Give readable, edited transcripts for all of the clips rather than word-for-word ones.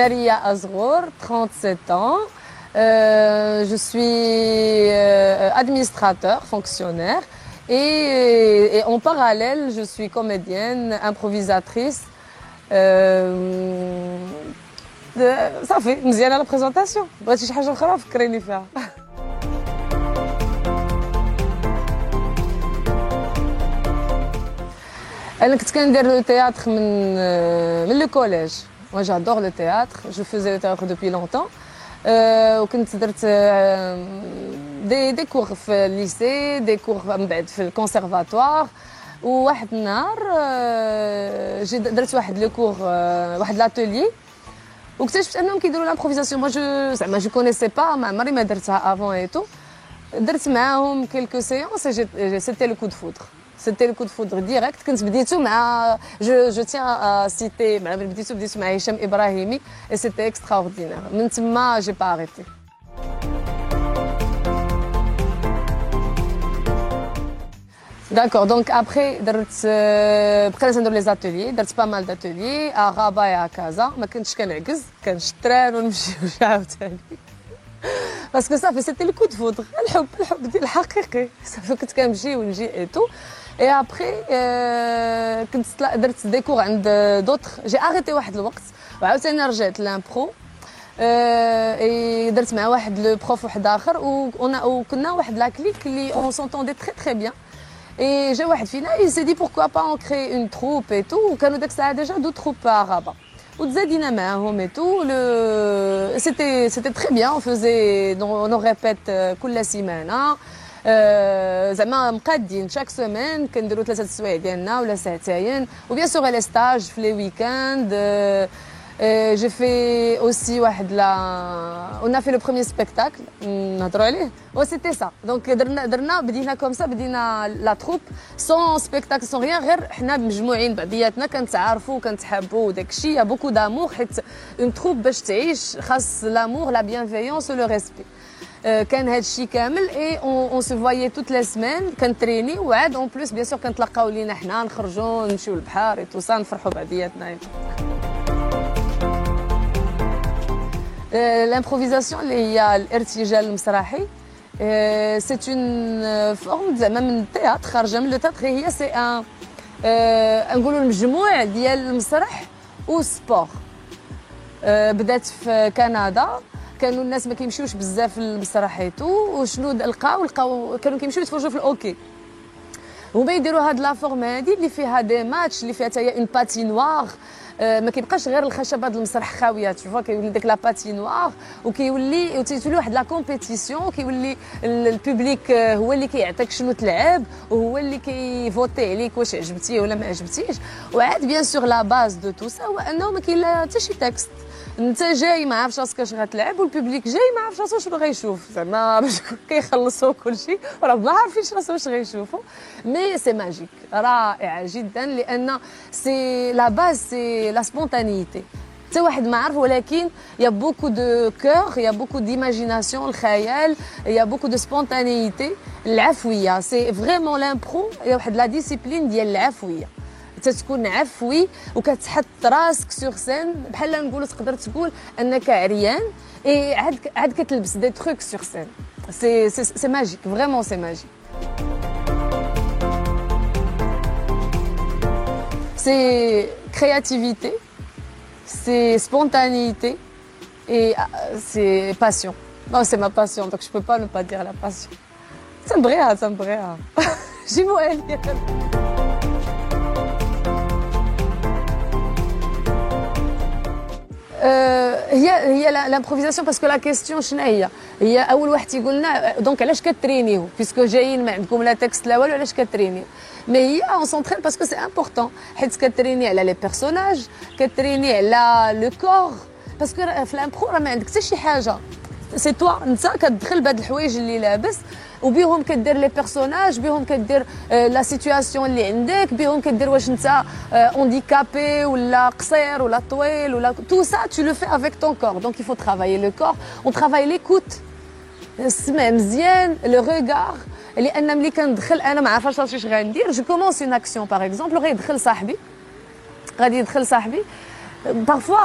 Maria Azgour, 37 ans. Je suis administrateur, fonctionnaire. Et en parallèle, je suis comédienne, improvisatrice. Ça fait مزيانة la présentation. بغيتي شي حاجة أخرى فكريني فيها. أنا كنت كندير لو تhéâtre من لو كوليج. Moi j'adore le théâtre, je faisais le théâtre depuis longtemps. وكنت درت دي كور في الليسي، دي كور من بعد في الكونسيرفاتوار. وواحد النهار درت واحد لو كور، واحد لاتولي، واكتشفت انهم كيديروا لامبروفيزاسيون. مو زعما جو كونيسي با، ما عمري ما درتها افون اي تو. درت معاهم كيلكو سيونس، سيتي لو كو دو فودر. C'était le coup de foudre direct. Je tiens à citer, بديتو مع هشام إبراهيمي et c'était extraordinaire. من تما j'ai pas arrêté. D'accord, donc après بقينا ندير لي زاتوليي، درت pas mal d'ateliers à Rabat et à Casa. ما كنتش كنعكز، كنشتران ونمشي عاوتاني. Parce que ça fait c'était le coup de foudre. الحب ديال الحقيقي. صافي كنت كنمشي ونجي et tout. Et après, كنت درت دي كور عند دوطخ. جي اريتي واحد الوقت وعاوتاني رجعت لامبرو. درت مع واحد لو بروف واحد اخر، وكنا واحد لا كليك اللي اون سونتوندي تري تري بيان. Et جا واحد فينا il s'est dit pourquoi pas on crée une troupe et tout. وكانوا داك الساعه ديجا دو troupes à Rabat. وتزادينا معاهم et tout. C'était très bien. On faisait nos répètes كل سيمانه. زعما مقادين شاك سيمين كنديروا 3 السوايع ديالنا ولا ساعتين. وبيان سور لي ستاج في لي ويكاند. J'ai fait aussi on a fait le premier spectacle نهضروا عليه. C'était ça. Donc درنا بدينا comme ça، بدينا la troupe sans spectacle sans rien، غير حنا مجموعين بعضياتنا كنتعارفوا وكنتحابوا وداك الشيء. يا بوكو دامور، حيت اون troupe باش تعيش خاص لامور، لا بيانفيونس و لو ريسبي. كان هذا الشيء كامل. اي اون سو فوايي توت لي سمان، كنتريني وعاد اون بليس بيان سور كنتلاقاو لينا حنا، نخرجوا نمشيو للبحر اي تو سا، نفرحوا بعضياتنا. الامبروفيزاسيون اللي هي الارتجال المسرحي، سي اون فورم زعما من التياتر، خارجه من لو تياتر. هي سي ان نقولوا المجموع ديال المسرح والسبور. بدات في كندا، كانوا الناس ما كيمشيوش بزاف للمسرح ايتو، وشنو لقاو كانوا كيمشيو يتفرجوا في الاوكي. هما يديروا هاد لا فورم هادي اللي فيها دي ماتش، اللي فيها حتى هي اون باتينوار. ما كيبقاش غير الخشبه د المسرح خاويه، تشوفوا كيولي ديك لا باتينوار، وتولي واحد لا كومبيتيسيون. كيولي البوبليك هو اللي كيعطيك شنو تلعب، وهو اللي كيفوتي عليك واش عجبتيه ولا ما عجبتيش. وعاد بيان سور لا باز دو تو سا هو انه ما كاين لا حتى شي تكست. انت جاي ما عارفش راسك اش غتلعب، والبوبليك جاي ما عارفش راسو شنو غيشوف. زعما باش كيخلصوا كلشي وراه ما عارفينش راسو واش غيشوفوا. مي سي ماجيك، رائع جدا، لان سي لا باز سي لا سبونتانيتي. حتى واحد ما عارف، ولكن يا بوكو دو كور، يا بوكو ديماجيناسيون، الخيال، يا بوكو دو سبونتانيتي، العفويه. سي فريمون لامبرو واحد لا ديسيبلين ديال العفويه. تكون عفوي وكتحط راسك سور سين، بحال نقولوا تقدر تقول انك عريان اي عاد كتلبس دي تروك سور سين. سي ماجيك، فريمون سي ماجيك. سي كرياتيفيتي، c'est spontanéité et c'est passion. Non, c'est ma passion, donc je peux pas ne pas dire la passion. Ça me brille. J'y vois elle. هي l'improvisation. باسكو لا كيستيون شنو هي اول واحد تيقول لنا دونك علاش كترينيو، بيسكو جايين ما عندكم لا تكست لا والو، علاش كترينيو. مي هي اون سونطرين باسكو سي امبورطون، حيت كتريني على لي بيرسوناج، كتريني على لو كور. باسكو في الامبرو راه ما عندك حتى شي حاجه، سي توا انت كتدخل بهاد الحوايج اللي لابس، وبيهم كدير لي بيرسوناج، بيهم كدير لا سيتوياسيون اللي عندك، بيهم كدير واش انت اونديكابي ولا قصير ولا طويل ولا تو سا tu le fais avec ton corps. Donc il faut travailler le corps, on travaille l'écoute، السمع مزيان، لو ريغار. لان ملي كندخل انا ما عارفاش راسي اش غندير، جو كومونس اون اكسيون باغ اكزومبل، غادي يدخل صاحبي parfois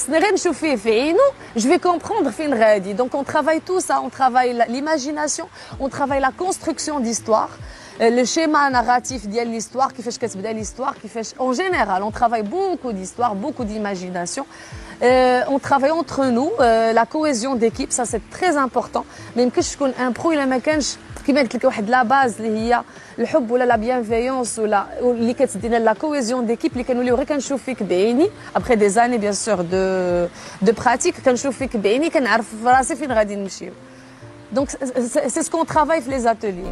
je vais comprendre fin غادي. Donc on travaille tout ça, on travaille l'imagination, on travaille la construction d'histoire, le schéma narratif de l'histoire, qui fait que l'histoire, qui fait en général, on travaille beaucoup d'histoire, beaucoup d'imagination. On travaille entre nous, la cohésion d'équipe, ça c'est très important. ما يمكنش تكون ان برو الا ما كانش كيما قلت لك واحد لا باز اللي هي الحب ولا لا بيانفيونس ولا اللي كتدينا لا كوهيزيون ديكيب اللي كنوليو غير كنشوف فيك بعيني ابخي دي زاني بيان سور دو براتيك كنشوف فيك بعيني كنعرف راسي فين غادي نمشيو دونك سي سكون ترافاي في لي زاتيليي.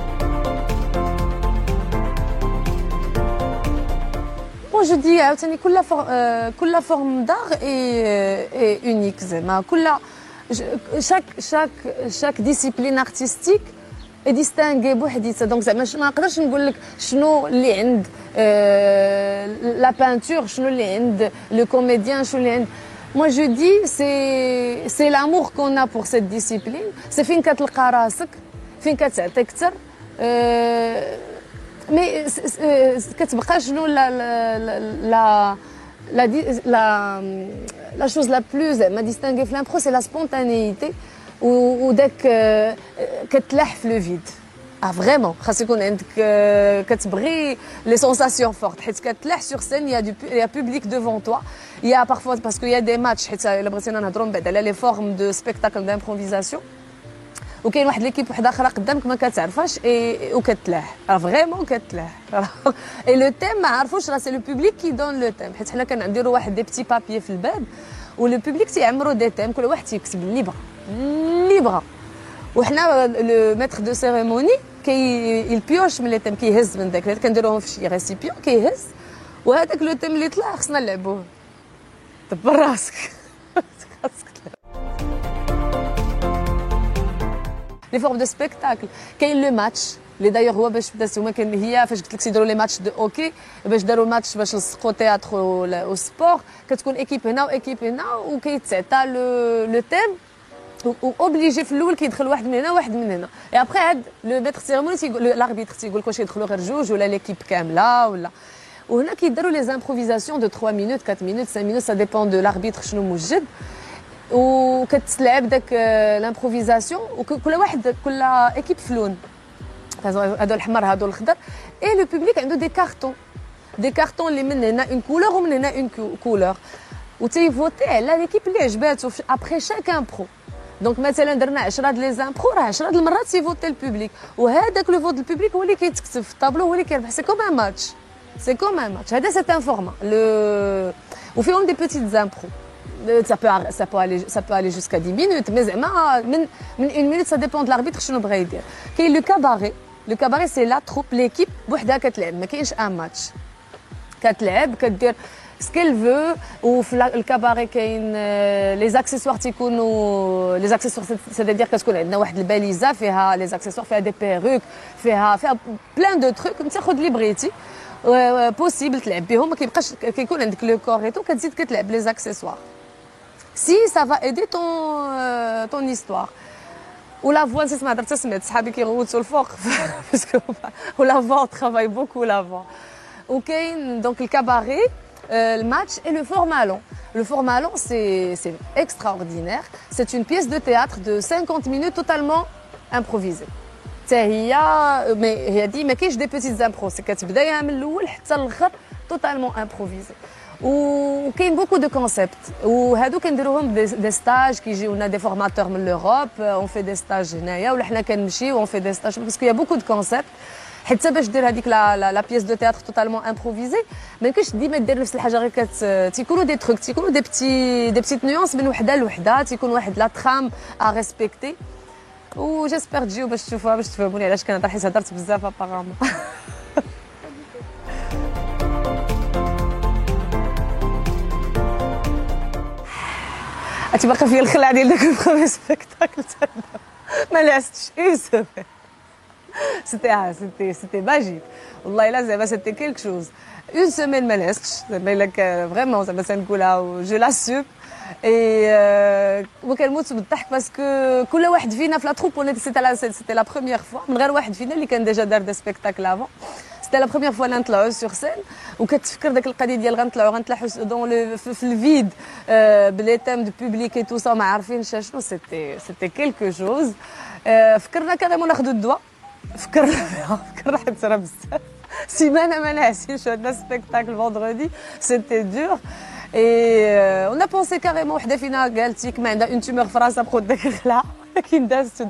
Moi je dis عاوتاني كل forme d'art est unique زعما كل chaque discipline artistique est distinguée بوحديتها دونك زعما ما نقدرش نقول لك شنو اللي عند la peinture شنو اللي عند le comédien شنو اللي عند. Moi je dis c'est l'amour qu'on a pour cette discipline, c'est فين كتلقى راسك فين كتعطي اكثر. مي كتبقى شنو la chose la plus زعما distinguée في l'impro c'est la spontanéité وداك كتلاح في لو فيد. فريمون خاص يكون عندك كتبغي لي سونساسيون فورت حيت كتلاح سور سين يا بوبليك ديفون توا يا بارفوا باسكو يا دي ماتش حيت الا بغيتينا نهضروا من بعد على لي فورم دو سبيكتاكل دامبروفيزاسيون وكاين واحد ليكيب وحده اخرى قدامك ما كتعرفهاش وكتلاح فريمون كتلاح اي لو تيم ما عرفوش راه سي لو بوبليك كي دون لو تيم حيت حنا كنديروا واحد دي بتي بابي في الباب ولو بوبليك تيعمروا دي تيم كل واحد تيكتب اللي بغا وحنا لو ميتر دو سيريموني البيوش من لي تيم كيهز من داك كنديروهم في شي ريسيبيون كيهز وهذاك لو تيم اللي طلع خصنا نلعبوه دبر راسك. لي فورم دو سبيكتاكل كاين لو ماتش اللي دايوغ هو باش بدا هما كاين هي فاش قلت لك تيديروا لي ماتش دو اوكي باش داروا الماتش باش لصقوا تياتر و سبور كتكون ايكيب هنا وايكيب هنا وكيتعطى لو تيم اوبليجي في الاول كيدخل واحد من هنا واحد من هنا اي ابخي هاد لو ميتر سيرموني تيقول لاربيتر تيقول لك واش يدخلوا غير جوج ولا ليكيب كامله ولا وهنا كيداروا لي امبروفيزاسيون دو 3 مينوت 4 مينوت 5 مينوت سا ديبون دو لاربيتر شنو موجد وكتلعب داك لامبروفيزاسيون وكل واحد كل ايكيب فلون هادو الحمر هادو الخضر اي لو بوبليك عنده دي كارطون اللي من هنا اون كولور ومن هنا اون كولور وتيفوتي على ليكيب اللي عجباتو ابخي شاك امبرو دونك مثلا درنا 10 د لي زامبرو راه 10 د المرات تيفوتي البوبليك وهذاك لو فوت البوبليك هو اللي كيتكتب في الطابلو هو اللي كيربح سي كوم ان ماتش هذا سي ان فورما وفيهم دي بيتيت زامبرو ça peut aller jusqu'à 10 minutes mais زعما من 1 minute ça dépend de l'arbitre شنو بغا يدير. كاين لو كاباري سي لا تروب ليكيب بوحدها كتلعب ما كاينش ان ماتش كتلعب كدير سكيل فو وفي الكاباري كاين لي زاكسيسوار تيكونوا لي زاكسيسوار سيتادير كتكون عندنا واحد الباليزه فيها لي زاكسيسوار فيها دي بيروك فيها بلان دو تروك تاخذ لي بغيتي بوسيبل تلعب بهم ما كيبقاش كيكون عندك لو كور ايتو كتزيد كتلعب لي زاكسيسوار si ça va aider ton histoire. Ou la voix, c'est ma درت سمعت صحابي كيغوتوا الفوق باسكو ولا voix on travaille beaucoup la voix. وكاين donc le cabaret, le match et le format long. Le format long c'est extraordinaire. C'est une pièce de théâtre de 50 minutes totalement improvisée. هي هي دي ما كاينش دي بيتيت امبرو سي كتبدايها من الاول حتى الاخر توتالمون امبروفيزي وكاين بوكو دو كونسيبت وهادو كنديروهم دي ستاج كيجيونا دي فورماتور من لوروب اون في دي ستاج هنايا ولا حنا كنمشيو اون في دي ستاج باسكو يا بوكو دو كونسيبت حتى باش دير هذيك لا بيس دو تياتر توتالمون امبروفيزي ما يمكنش ديما دير نفس الحاجه غير تيكونوا دي تروك تيكونوا دي بتيت نيونس من وحده لوحده تيكون واحد لا ترام ا ريسبكتي و جيسبر تجيو باش تشوفوها باش تفهموني علاش كنهضر حيت هضرت بزاف ابارامون. انت باقي فيا الخلعه ديال داك البرومي سبيكتاكل ما لعستش اون سيمين سيتي ماجيك والله الا زعما سيتي كيلك شوز اون سيمين ما لعستش زعما الا فريمون زعما تنقولها جو لاسوم اي وكنموت بالضحك باسكو كل واحد فينا في لا تروب سيتي لا بروميير فوا من غير واحد فينا اللي كان ديجا دار دي سبيكتاكل افون c'était la première fois اللي نطلعوا sur scène وكتفكر داك القضيه ديال غنطلعوا dans le في الفيد بلي تام دو بوبليك اي تو سا ما عارفينش شنو c'était quelque chose. فكرنا كاريمون ناخذوا الدواء فكرنا حيت راه بزاف سيمانه ما نعسيش عندنا سبيكتاكل فوندردي سيتي دور. Et on a pensé carrément وحده فينا قالت ما عندها اون تومور في راسها بقات داك الخلع ولكن دازت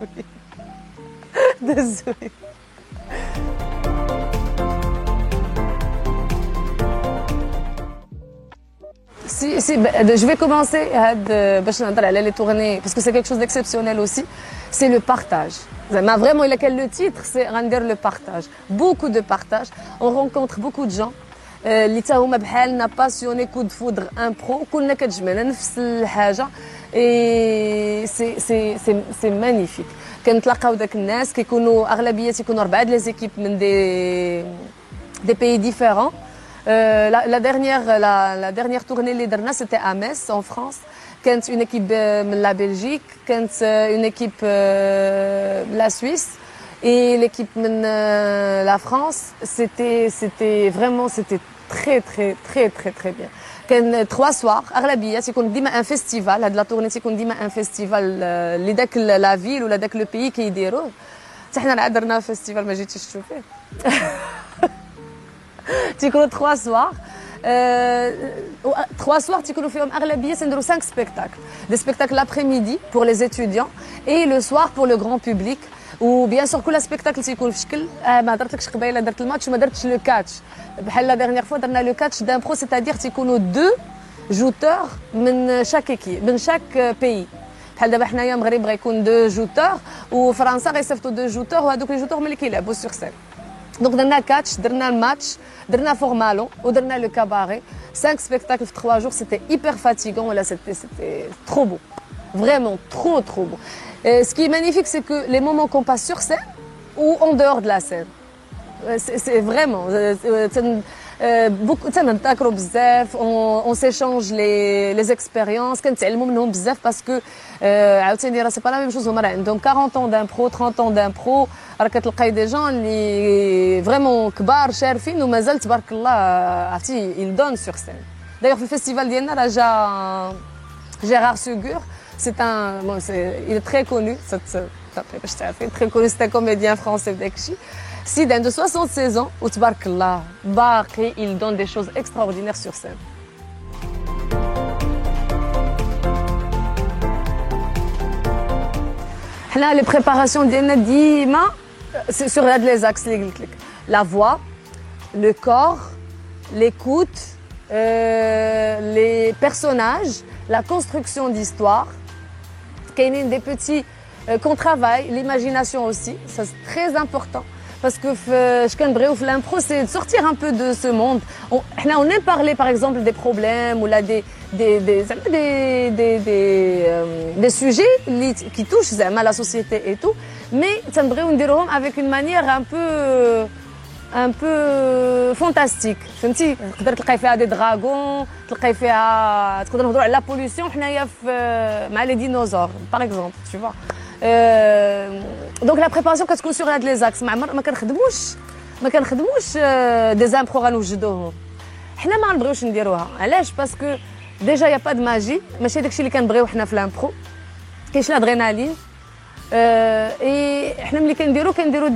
زوين. Si, je vais commencer باش نهضر على les tournées parce que c'est quelque chose d'exceptionnel aussi, c'est le partage. Vraiment, le titre, c'est rendre le partage. Beaucoup de partage. On rencontre beaucoup de gens. اللي تا هما بحالنا باسيوني كود فودر ان برو كلنا كتجمعنا نفس الحاجه اي سي مانيفيك. كنتلاقاو داك الناس كيكونوا اغلبيه تيكونوا 4 د لي زيكيب من دي بيي ديفيرون. La dernière tournée اللي درنا c'était à Metz en France. كانت une équipe من la Belgique, كانت une équipe la Suisse. Et l'équipe de la France, c'était vraiment très bien. كان 3 soirs اغلبيه تيكون ديما ان فيستيفال. هاد لا تورني تيكون ديما ان فيستيفال اللي داك لا فيل ولا داك لو بيي كيديروه. حتى حنا عاد درنا فيستيفال ما جيتيش تشوفيه. تيكونوا 3 soirs. 3 soirs تيكونوا فيهم اغلبيه تنديروا 5 spectacles. Des spectacles l'après-midi pour les étudiants et le soir pour le grand public. وبيان سور كل سبيكتاكل تيكون في شكل ما درتلكش قبيله درت الماتش وما درتش لو كاتش بحال لا ديرنيير فوا درنا لو كاتش دان برو سيتادير تيكونوا 2 جوتور من شاك ايكي من شاك بيي. بحال دابا حنايا المغرب غيكون 2 جوتور وفرنسا غيصيفطوا 2 جوتور وهذوك لي جوتور ملي كيلعبوا سور سين. دونك درنا كاتش درنا الماتش درنا فورمالون ودرنا لو كاباري 5 spectacles في 3 jours. C'était hyper fatigant ولا c'était trop beau, vraiment trop beau. Ce qui est magnifique, c'est que les moments qu'on passe sur scène ou en dehors de la scène, c'est vraiment beaucoup. On s'échange les expériences. Parce que c'est pas la même chose. Donc 40 ans d'impro, 30 ans d'impro, des gens qui vraiment كبار شارفين وما زال تبارك الله عرفتي ils donnent sur scène. D'ailleurs, le festival ديالنا Gérard Segur. Il est très connu, très connu, c'est un comédien français d'Ekchi. Sidan de 76 ans, ou tbarkallah, baqi, il donne des choses extraordinaires sur scène. Là, les préparations d'Ima, c'est sur les axes, la voix, le corps, l'écoute, les personnages, la construction d'histoire. Des petits qu'on travaille, l'imagination aussi, ça c'est très important parce que l'impro c'est de sortir un peu de ce monde. On aime parler par exemple des problèmes ou là des sujets qui touchent la société et tout, mais ça me avec une manière un peu fantastique. فهمتي تقدر تلقاي فيها دي دراغون تلقاي فيها تقدر نهضروا على لا بوليسيون حنايا مع لي ديناصور باغ اكزومبل tu vois. دونك لا بريباراسيون كتكون سور هاد لي زاكس ما كنخدموش دي زامبرو غنوجدوهم حنا ما نبغيوش نديروها. علاش؟ باسكو ديجا يا با د ماجي ماشي داكشي اللي كنبغيو حنا في لامبرو. كاينش الادرينالين اي حنا ملي كنديرو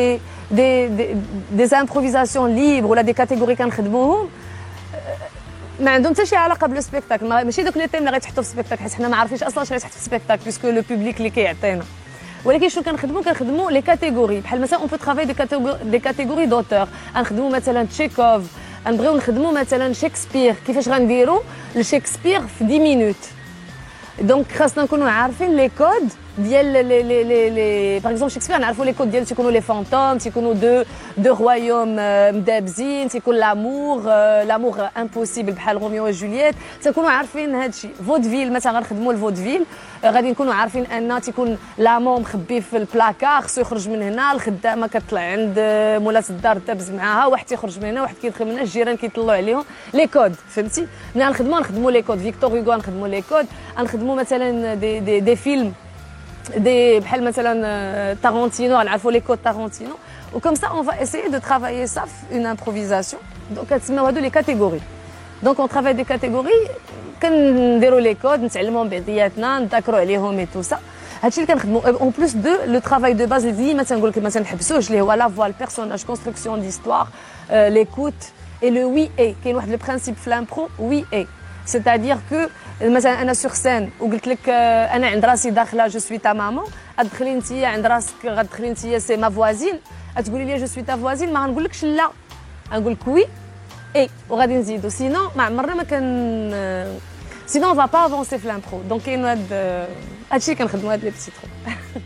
des improvisations libres ولا des catégories كنخدموهم ما عندهم حتى شي علاقه بالسبيكتاكل. ماشي دوك لي تيم اللي غيتحطوا في السبيكتاكل حيت حنا ما عارفينش اصلا شنو غيتحط في السبيكتاكل باسكو لو بوبليك اللي كيعطينا. ولكن شنو كنخدموا لي كاتيجوري بحال مثلا اون بو ترافاي دي كاتيجوري دوتور. غنخدموا مثلا تشيكوف غنبغيو نخدموا مثلا شكسبير. كيفاش غنديروا لشكسبير في 10 مينوت؟ دونك خاصنا نكونوا عارفين لي كود ديال لي باغ اكزومبل شكسبير نعرفوا لي كود ديالو تيكونوا لي فانتوم تيكونوا دو رويوم مدابزين تيكون لامور امبوسيبل بحال روميو وجولييت تكونوا عارفين هذا الشيء. فودفيل مثلا غنخدموا الفودفيل غادي نكونوا عارفين ان تيكون لامون مخبي في البلاكار خصو يخرج من هنا الخدامه كتطلع عند مولات الدار تابز معاها واحد تيخرج من هنا واحد كيدخل من هنا الجيران كيطلعوا عليهم لي كود فهمتي. ملي نخدموا لي كود فيكتور هوغو نخدموا لي كود نخدموا مثلا دي فيلم des بحال مثلا Tarantino, غنعرفوا les codes Tarantino. Ou comme ça, on va essayer de travailler ça, une improvisation. Donc, les catégories. Donc, on travaille des catégories. كنديروا les codes, نتعلموا بيضياتنا, نذاكروا عليهم et tout ça. هادشي اللي كنخدموا. En plus de le travail de base, اللي ديما تنقول لك ما تنحبسوش اللي هو la voix, le personnage, construction d'histoire, l'écoute et le oui et. كاين واحد le principe في l'impro, oui et. C'est-à-dire que مثلا انا sur scène وقلت لك انا عند راسي داخله je suis ta maman, غتدخلي انت عند راسك غتدخلي انت c'est ma voisine. تقولي لي جو سوي تا فوازين ما غنقولكش لا غنقول لك وي اي وغادي نزيدو سينو ما عمرنا ما كان سينو اون فا با افونسي في لامبرو دونك كاين هادشي اللي كنخدموا هاد لي بيتي ترو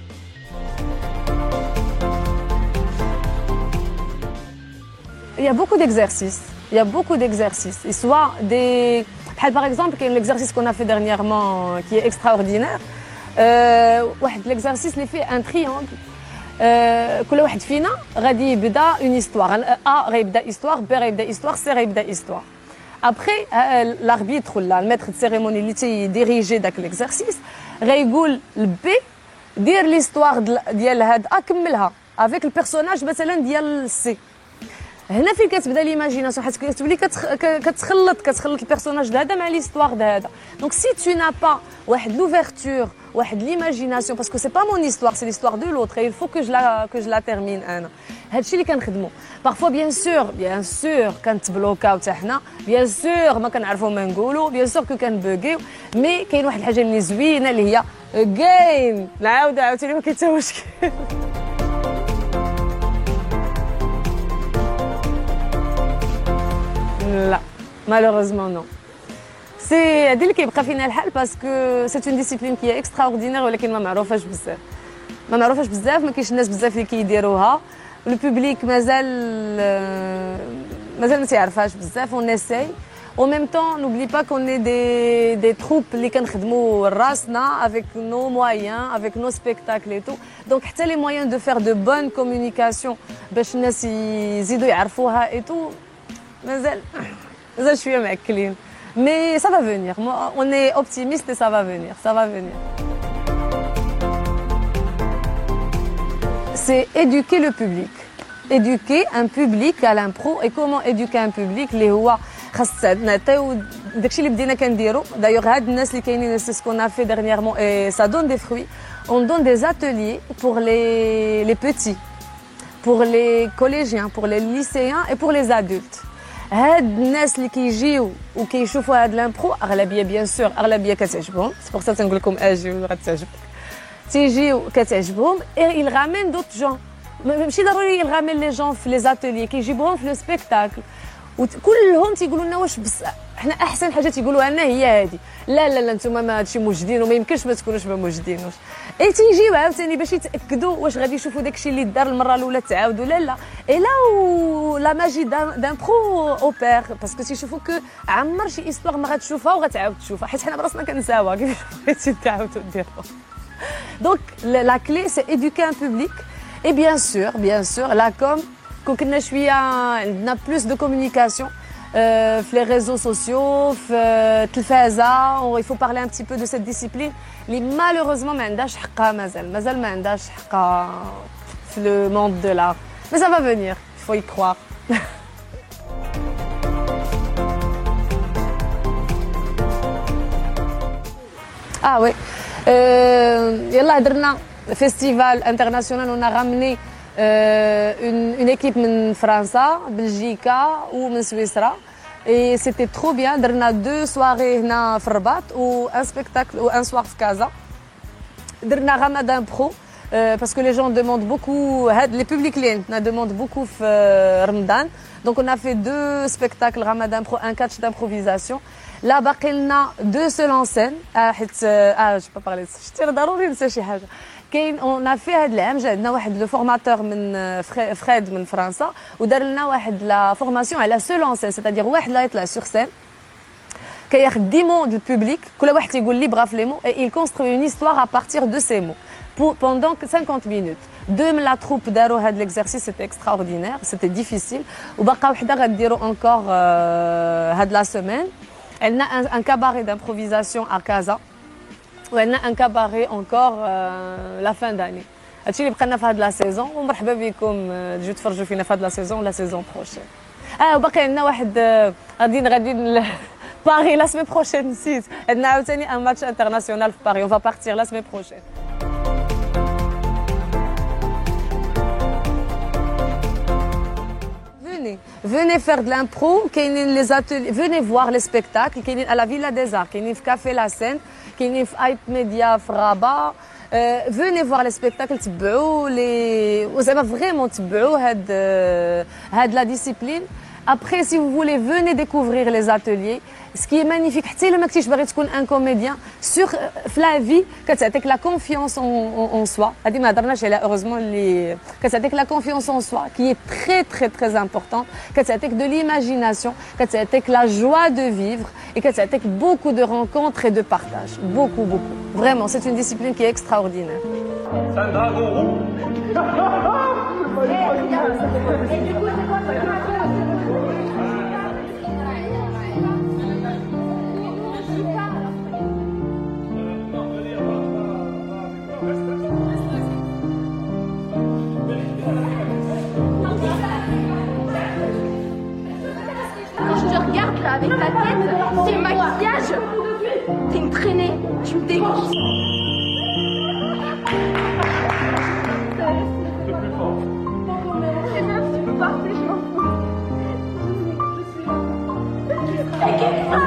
Il y a beaucoup d'exercices. Il y a beaucoup d'exercices. Et soit des... Par exemple, il y a l'exercice qu'on a fait dernièrement qui est extraordinaire. L'exercice, il fait un triangle. كل واحد فينا غادي يبدا اون هيستوار ا غيبدا هيستوار بي غيبدا هيستوار سي غيبدا هيستوار ابخي لاربيتر ولا الميتر دو سيريموني اللي تيديريجي داك ليكزارسيس غيقول البي دير ليستوار ديال هاد ا كملها افيك البيرسوناج مثلا ديال سي هنا فين كتبدا ليماجيناسيون حيت كتولي كتخلط البيرسوناج هذا مع ليستوار هذا دونك سي تو نا با واحد لوفرتور واحد ليماجيناسيون باسكو سي با مون هيستوار سي ليستوار دو لوتر اي فو كو جو لا تيرمين انا هادشي اللي كنخدمو بارفوا بيان سور كنتبلوكاو حتى حنا بيان سور ما كنعرفو ما نقولو بيان سور كو كنبوغيو مي كاين واحد الحاجه اللي زوينه اللي هي كاين نعاود عاوتاني ما كاين حتى مشكل لا malheureusement non. C'est هذه اللي كيبقى فينا الحال باسكو سي اون ديسيبلين كي اكستراوردينير ولكن ما معروفاش بزاف ما كاينش الناس بزاف اللي كيديروها لو بوبليك مازال ما تيعرفهاش بزاف اون اساي او ميم طون نوبلي با كون اي دي تروب اللي كنخدموا راسنا افيك نو مويان افيك نو سبيكتاكل اي تو دونك حتى لي مويان دو فير دو بون كومونيكاسيون باش الناس يزيدوا يعرفوها اي تو مازال شويه معكلين mais ça va venir on est optimiste et ça va venir c'est éduquer le public éduquer un public à l'impro et comment éduquer un public اللي هو خاص نعطيو داكشي اللي بدينا كنديرو دايوغ هاد الناس اللي كاينين سي سكون ا في dernièrement et ça donne des fruits on donne des ateliers pour les petits pour les collégiens pour les lycéens et pour les adultes هاد الناس اللي كيجيو وكيشوفوا هاد لامبرو اغلبيه بيان سور اغلبيه كتعجبهم سي بور سا تنقول لكم اجيو غتعجبك تيجيو كتعجبهم اي il ramène d'autres gens ماشي ضروري il ramène les gens في لي زاتيليي كيجيبوهم في لو سبيكتاكل وكلهم تيقولوا لنا واش بس حنا احسن حاجه تيقولوها لنا هي هذه لا نتوما ما هادشي موجدين وما يمكنش ما تكونوش ما موجدينوش اي تيجيو عاوتاني باش يتاكدوا واش غادي يشوفوا داكشي اللي دار المره الاولى تعاود ولا لا اي لا لا ماجي دان برو اوبير باسكو تيشوفوا كو عمر شي هيستوار ما غتشوفها وغتعاود تشوفها حيت حنا براسنا كنساوها كيفاش بغيتي تعاودوا ديروها دونك لا كلي سي ايدوكي ان بوبليك اي بيان سور لا كوم كون كنا شويه عندنا بلوس دو كومونيكاسيون في les réseaux sociaux في التلفازه il faut parler un petit peu de cette discipline اللي malheureusement ما عندهاش حقها مازال ما عندهاش حقها في le monde de l'art mais ça va venir il faut y croire ah oui يلا درنا festival international on a ramené une équipe من فرنسا بلجيكا ومن سويسرا et c'était trop bien درنا 2 soirées هنا في الرباط و un spectacle و un soir في كازا درنا Ramadan Pro parce que les gens demandent beaucoup les publics اللي عندنا demandent beaucoup في رمضان donc on a fait 2 spectacles Ramadan Pro un catch d'improvisation là باقي لنا 2 seuls en scène حيت je peux parler شتي ضروري ننسى شي حاجه كاين اون في هذا العام جا عندنا واحد لو فورماتور من فريد من فرنسا ودار لنا واحد لا فورماسيون على سول اون سين سيتادير واحد لا يطلع سور سين كياخذ 10 mots du public كل واحد تيقول لي بغا في لي مو et il construit une histoire à partir de ces mots pendant 50 minutes deux من لا تروب داروا هذا l'exercice c'était extraordinaire c'était difficile وبقى وحده غديروا encore هاد لا سيمين عندنا un cabaret d'improvisation à Casa وعندنا ان كاباري اونكور لا فان داني. هادشي اللي بقى لنا في هاد لا سيزون، ومرحبا بكم تجيو تفرجوا فينا في هاد لا سيزون ولا سيزون بروشين. وباقي عندنا واحد غاديين باري لا سيمين بروشين. نسيت عندنا عاوتاني ان ماتش انترناسيونال في باري، اون فا بارتير لا سيمين بروشين. Venez faire de l'impro, les ateliers, venez voir les spectacles, à la Villa des Arts, في Café La Seine, في Hype Media في Rabat. Venez voir les spectacles, تبعوا les وزعما vraiment تبعوا هاد la discipline. Après, si vous voulez, venez découvrir les ateliers. Ce qui est magnifique, حتى إلا ما كنتيش باغي تكون un comédien, sur la vie, كتعطيك la confiance en soi. هادي ما هضرناش عليها heureusement اللي كتعطيك la confiance en soi qui est très très très importante. كتعطيك de l'imagination, كتعطيك la joie de vivre et كتعطيك beaucoup de rencontres et de partage. Beaucoup beaucoup. Vraiment, c'est une discipline qui est extraordinaire. C'est un dragon rouge. Et du coup, c'est quoi Quand je te regarde là avec ta tête, tes maquillages, t'es une traînée, tu me dégoûtes. C'est bien, tu peux partir, je m'en fous.